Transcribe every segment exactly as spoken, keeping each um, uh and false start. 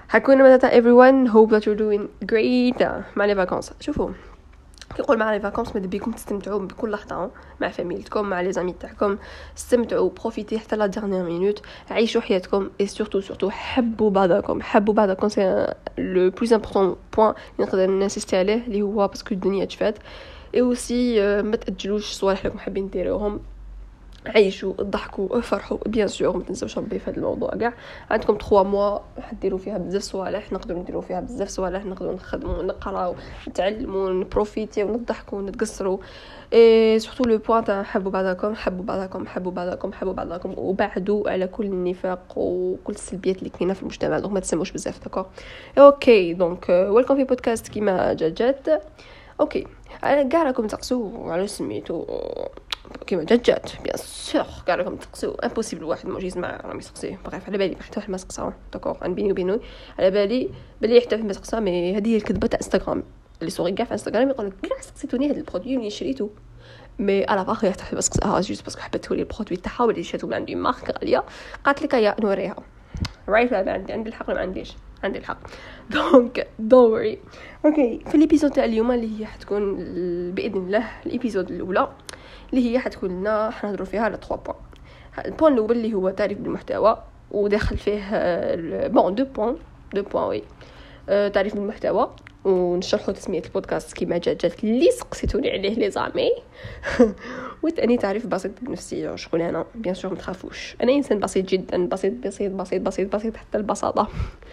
حكون متى everyone hope that you're doing great مع لي فاكونس. شوفوا كيقول مع لي فاكونس ماذا بيكم تستمتعوا بكل لحظه مع فاميلتكم مع لي زامي تاعكم. استمتعوا بروفيتي حتى لا ديرنيير مينوت. عيشوا حياتكم اي سورتو سورتو حبوا بعضكم حبوا بعضكم. سي لو بلوز امبورطون بوين نقدر نسيستي عليه اللي هو باسكو الدنيا تفات. اي اوسي ما تاجلوش صوالح اللي حابين ديروهم. عيشوا ضحكوا فرحوا بيان سور. ما تنساوش ربي في هذا الموضوع كاع. عندكم ثلاثة موا حديروا فيها بزاف صوالح. نقدروا نديروا فيها بزاف صوالح. نقدروا نخدموا نقراو نتعلموا نبروفيتي ونضحكوا نتقصروا. اي سورتو لو بوين تاع حبوا بعضكم حبوا بعضكم حبوا بعضكم حبوا بعضكم وبعدوا على كل النفاق وكل السلبيات اللي كاينه في المجتمع. دونك ما تسموش بزاف داكور. اوكي دونك ويلكم في بودكاست كيما جات. اوكي كاع راكم تقصوا على سميتو كيما جات بيان سور. كاع راكم تقصوا امبوسيبل واحد ما يجي يسمع راه يسقسي. بغيف على بالي حتى واحد ما سقسا داكور. عن بيني وبينه على بالي بلي حتى ما سقسا. مي هذه هي الكذبه تاع انستغرام اللي صوري كاع في انستغرام يقول لك كاع سقسيتوني هذا البرودوي اللي شريته مي على باغي حتى بس اه جوست باسكو حبيت توري البرودوي تاعها ولا شاتو من عندي مارك غاليه قالت لك يا نوريها رايت. لا عندي عندي الحق ما عنديش عندي الحق. دونك دونت وري. اوكي في الابيزود تاع اليوم اللي هي حتكون باذن الله الابيزود الاولى اللي هي حتكون لنا حنهضروا فيها على ثلاثة بوين. البوين الاول اللي هو تعريف بالمحتوى وداخل فيه بون دو بوين دو بوين وي تعريف بالمحتوى ونشرحوا تسميه البودكاست كيما جات جات اللي سقسيتوني عليه لي زامي. وثاني تعريف بسيط بنفسي شغل انا بيان سور ما تخافوش انا انسان بسيط جدا بسيط بسيط بسيط بسيط بسيط حتى البساطه.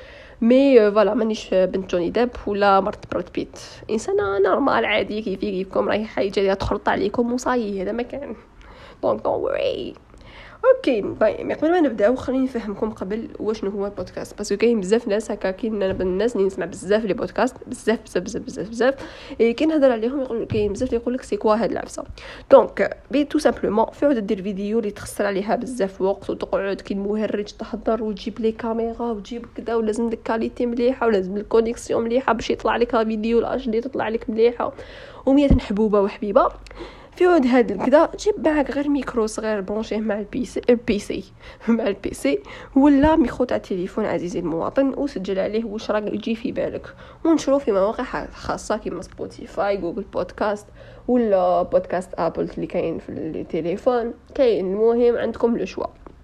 مي فوالا مانيش بنت جوني ديب ولا مرت براد بيت. انسانه نورمال عادي كيفي كيفكم رايحه جايه تخلط عليكم وصاي هذا ما كان. دونك دونت وري. اوكي باي قبل ما نبداو خليني نفهمكم قبل واش هو البودكاست باسكو كاين بزاف ناس هكا كاين الناس اللي نسمع بزاف لي بودكاست بزاف بزاف بزاف بزاف بزاف اي كاين نهضر عليهم يقول كاين بزاف اللي يقول لك سي كوا هاد العفسه. دونك بي تو سامبلومون فعود دير فيديو اللي تخسر عليها بزاف وقت وتقعد كي المهرج تحضر وتجيب لي كاميرا وتجيب كذا ولازم لك كاليتي مليحه ولازم لك كونيكسيون مليحه باش يطلع لك الفيديو الاش دي تطلع لك مليحه ومية حبوبه وحبيبه. في عود هذا كذا جيب معك غير ميكرو صغير برونشيه مع البيسي البيسي مع البيسي ولا ميكرو تاع التليفون عزيزي المواطن وسجل عليه واش راك يجي في بالك ونشرو في مواقع خاصه كيما سبوتيفاي جوجل بودكاست ولا بودكاست ابل اللي كاين في التليفون كاين. المهم عندكم لو شوا.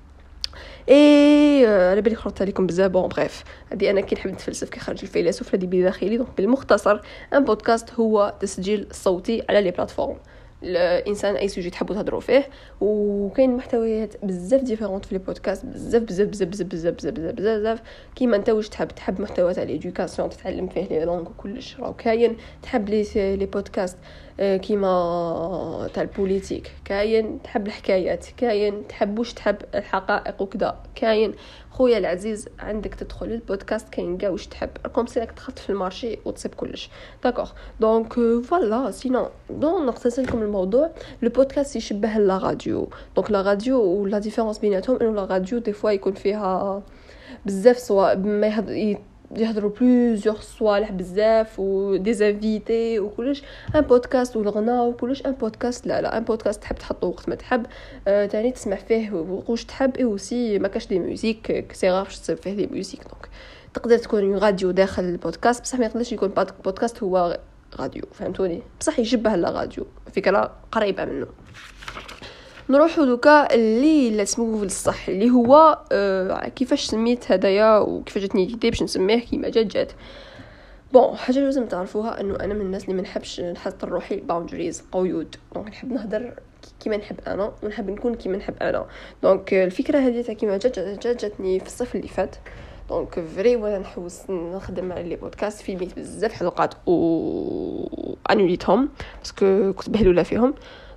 اي على بالي خرجت عليكم بزاف. بون بريف هذه انا كي نحب نتفلسف كي خرج الفيلسوف هذه بداخلي. دونك بالمختصر ان بودكاست هو تسجيل صوتي على لي بلاتفورم. الانسان اي سوجي تحبوا تهضروا فيه وكاين محتويات بزاف ديفيرونت في لي بودكاست بزاف بزاف بزاف بزاف بزاف بزاف بزاف بزاف كيما انت واش تحب. تحب محتوى تاع ليدوكاسيون تتعلم فيه لي لونغ وكلش راه كاين. تحب لي لي بودكاست كيما تاع البوليتيك كاين. تحب الحكايات كاين. تحب واش تحب الحقائق وكذا كاين. خويا العزيز عندك تدخل البودكاست كاين كاع واش تحب كوم سي راك دخلت في المارشي وتصيب كلش داكوغ. دونك فوالا سينو دون نختصر لكم الموضوع. لو بودكاست يشبه لا راديو. دونك لا راديو ولا ديفيرونس بيناتهم انه لا راديو دي فوا يكون فيها بزاف سوا ما يهضر يهضروا بلوزيور صوالح بزاف ودي زانفيتي وكلش. ان بودكاست والغنى وكلش. ان بودكاست لا لا ان بودكاست تحب تحطه وقت ما تحب آه تاني تسمع فيه واش تحب. اي اوسي ما كاش دي ميوزيك سي غاف تصيب فيه دي ميوزيك. دونك تقدر تكون راديو داخل البودكاست بصح ما يقدرش يكون بودكاست هو راديو فهمتوني. بصح يشبه لا راديو فكره قريبه منه. نروحوا دوكا اللي اسمه في الصح اللي هو آه كيفاش سميت هدايا وكيفاش جاتني اليدي باش نسميه كيما جات جات. بون حاجه لازم تعرفوها انه انا من الناس اللي ما نحبش نحط روحي باوندريز قيود. دونك نحب نهضر كيما نحب انا ونحب نكون كيما نحب انا. دونك الفكره هذه تاع كيما جات جات جاتني في الصيف اللي فات. دونك فري وانا نحوس نخدم على لي بودكاست فيلميت بزاف حلقات و انوليتهم باسكو كنت بهلوله فيهم.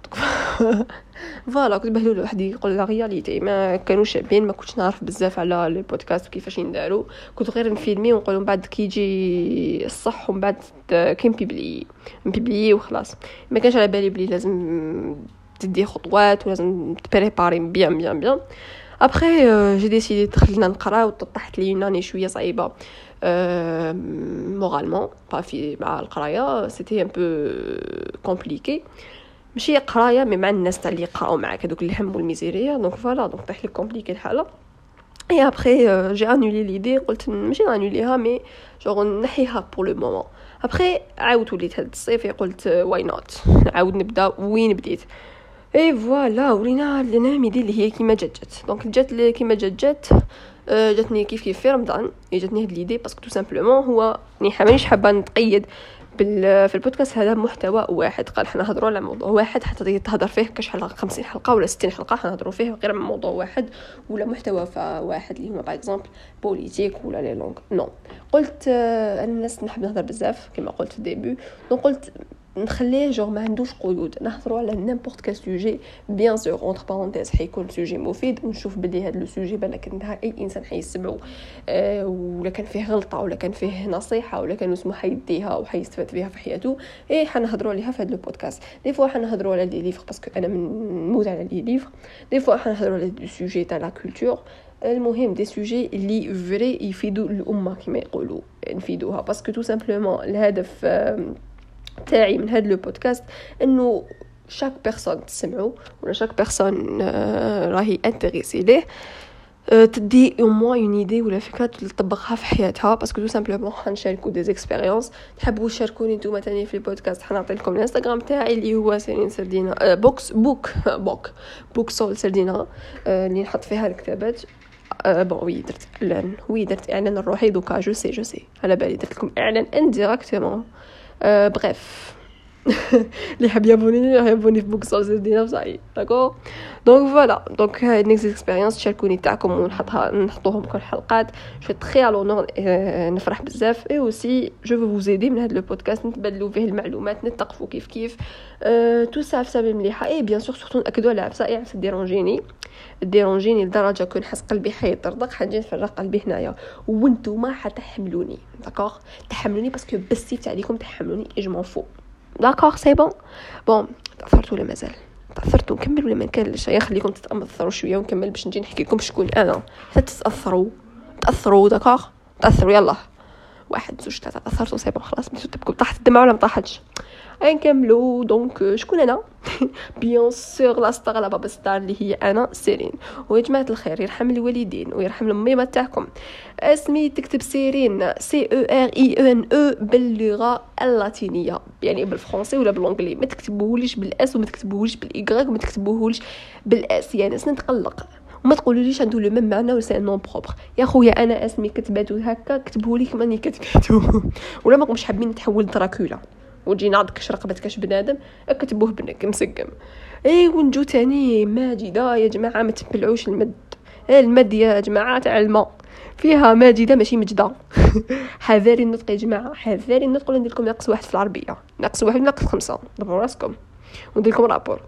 فوالا كنت بهلول واحد يقول لا رياليتي ما كانوش شابين. ما كنتش نعرف بزاف على لي بودكاست وكيفاش ينداروا. كنت غير نفيلمي ونقول من بعد كيجي الصح ومن بعد كاين بيبلي بيبلي وخلاص. ما كانش على بالي بلي لازم تدي خطوات ولازم تبريباري بيان بيان بيان. ابري جي ديسيدي دخلنا نقرا وطحت لي ناني شويه صعيبه مورالمون با في مع القرايه سيتي ان بو كومبليكي. ماشي قرايه مي مع الناس تاع اللي يقراو معاك هذوك اللي هم والميزيريا. دونك فوالا دونك طيح لي كومبليكي الحاله. Et après euh, j'ai annulé l'idée, قلت ماشي نانوليها مي genre نحيها pour le moment. après عاودت وليت هاد الصيف قلت واي نوت نعاود نبدا وين بديت. اي فوالا ولينا لنا ميدي اللي هي كيما جات جات دونك جات لي كيما جات جات جاتني كيف كيف في رمضان. جاتني هاد ليدي باسكو تو سامبلومون هو ني مانيش حابه نتقيد بال في البودكاست هذا محتوى واحد. قال حنا نهضروا على موضوع واحد حتى تهضر فيه كاش حلقه خمسين حلقه ولا ستين حلقه حنهضروا فيه غير عن موضوع واحد ولا محتوى واحد اللي هما باغ اكزومبل بوليتيك ولا لي لونغ. نو قلت انا الناس نحب نهضر بزاف كما قلت في الديبي. دونك قلت نخليه جور ما عندوش قيود نهضروا على نيمبورط كال سوجي. بيان سور اونتر بارونتيز حيكون سوجي مفيد ونشوف بلي هذا لو سوجي بالك انها اي انسان حيسمعوا أه ولا كان فيه غلطه ولا كان فيه نصيحه ولا كان اسمه حيديها وحيستفاد بها في حياته اي حنهضروا عليها في هذا لو بودكاست. دي فوا حنهضروا على دي ليفر باسكو انا نموت على لي ليفر. دي فوا حنهضروا على دي سوجي تاع لا كولتور. المهم دي سوجي اللي فري يفيدوا الامه كما يقولوا نفيدوها باسكو تو سامبلومون الهدف تاعي من هذا لو بودكاست انه شاك بيرسون تسمعوا ولا شاك بيرسون راهي انتريسي ليه تدي او موان اون ايدي ولا فكره تطبقها في حياتها باسكو تو سامبلومون حنشاركوا دي زيكسبيريونس. تحبوا تشاركوني نتوما تاني في البودكاست حنعطي لكم الانستغرام تاعي اللي هو سيرين سردينا بوكس بوك بوك بوك سول سردينا اللي نحط فيها الكتابات. أه بون وي درت اعلان وي درت اعلان الروحي دوكا جو سي جو سي على بالي درت لكم اعلان انديريكتومون. أه بريف اللي حاب يابوني يابوني في بوكسول زدينا بصاي داكور. دونك فوالا دونك هاد نيكست اكسبيريونس تشاركوني تاعكم ونحطها نحطوهم كل حلقات. جو تري على لونور نفرح بزاف اي اوسي جو فو فوز ايدي من هذا لو بودكاست نتبادلوا فيه المعلومات نتقفوا كيف كيف أه تو سا عفسه مليحه. اي بيان سور سورتو ناكدوا على عفسه اي عفسه ديرونجيني ديرونجيني لدرجه كون حس قلبي حيطرطق حنجي نفرغ قلبي هنايا وانتوما حتحملوني داكور. تحملوني باسكو بسيت عليكم تحملوني اجمون فو داكور سي بون. بون تاثرتوا ولا مازال تاثرتوا نكمل ولا ما نكملش؟ يا خليكم تتاثروا شويه ونكمل باش نجي نحكي لكم شكون انا حتى تتاثروا تاثروا داكور تاثروا يلا واحد زوج ثلاثه تاثرتوا سي بون خلاص مشيتوا تبكوا طاحت الدمعه ولا ما طاحتش نكملوا. دونك شكون انا؟ بيان سور لا ستار لا بابا ستار اللي هي انا سيرين. ويا جماعه الخير يرحم الوالدين ويرحم الميمه تاعكم. اسمي تكتب سيرين سي او ار اي ان او باللغه اللاتينيه يعني بالفرنسي ولا بالانجلي. ما تكتبوهوليش بالاس وما تكتبوهوليش بالايغريك وما تكتبوهوليش بالاس يعني سنتقلق وما تقولوليش عنده لو ميم معنى ولا نون بروبر. يا خويا انا اسمي كتباتو هكا كتبوه لي كما ني كتباتو ولا ماكمش حابين نتحول دراكولا وتجي نعضكش رقبتك كاش بنادم اكتبوه بنك مسقم. اي ونجو تاني ماجده يا جماعه ما تبلعوش المد. المد يا جماعه تاع الماء فيها ماجده ماشي مجده. حذاري النطق يا جماعه حذاري النطق. ولا ندير لكم ناقص واحد في العربيه ناقص واحد ناقص خمسة دبروا راسكم وندير لكم رابور.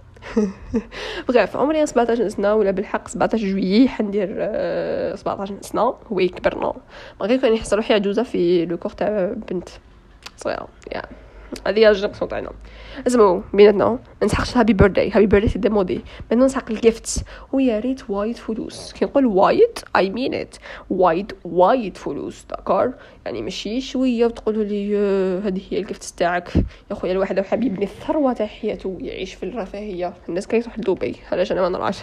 بغيف عمري سبعطاش سنه ولا بالحق سبعطاش جويي حندير سبعطاش سنه هو كبرنا ما غير كان يحس روحي عجوزه في لو كور تاع بنت صغيره يا هذه هي الجنقصون تاعنا. اسمعوا بيناتنا ما نسحقش هابي بيرثداي هابي بيرثداي سي ديمودي maintenant نسحق الجيفتس ويا ريت وايد فلوس. كي نقول وايد اي مين ات وايد وايد فلوس داكور يعني ماشي شويه وتقولوا لي هذه هي الجيفتس تاعك. يا خويا الواحد حاب يبني الثروه تاع حياته يعيش في الرفاهيه. الناس كيروح لدبي علاش انا ما نراش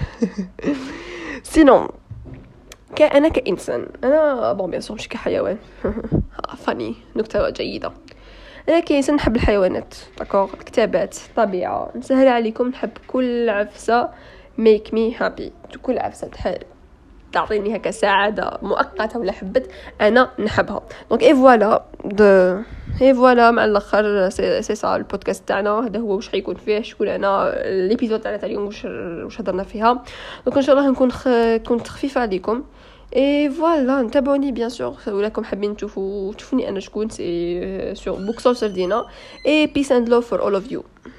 سينون كأنا كإنسان أنا بون بيان سور مش كحيوان فاني نكتة جيدة. أنا كإنسان نحب الحيوانات داكور الكتابات الطبيعة نسهل عليكم. نحب كل عفسة make me happy كل عفسة تحب تعطيني هكا سعادة مؤقتة ولا حبت أنا نحبها. دونك إي فوالا دو إي فوالا مع الآخر سي سي سا البودكاست تاعنا هذا هو واش حيكون فيه شكون أنا الإبيزود تاعنا تاع اليوم واش واش هضرنا فيها. دونك إن شاء الله نكون خ... كنت خفيفة عليكم. اي فوالا نتابعوني بيان سور ولاكم حابين تشوفوا تشوفوني انا شكون سي سور بوكسول سردينا. اي بيس اند لوف فور اول اوف يو.